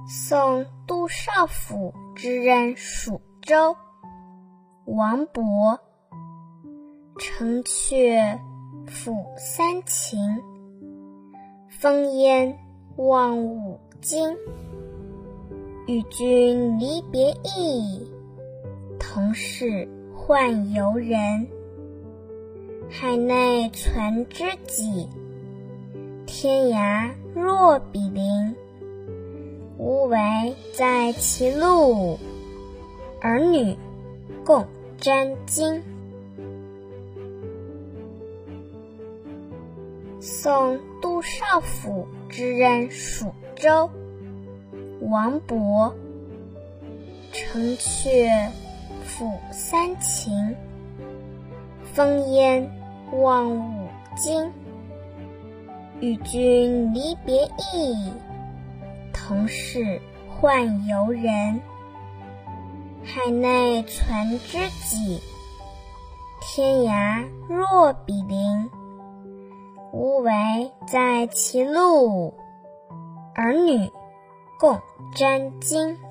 宋杜少府之任蜀州。王勃。城阙辅三秦，风烟望五津。与君离别意，同是宦游人。海内存知己，天涯若比邻。无为在其路，儿女共沾巾。宋杜少府之任蜀州。王勃。城阙辅三秦，风烟望五津。与君离别意，同是宦游人。海内存知己，天涯若比邻。无为在其路，儿女共沾巾。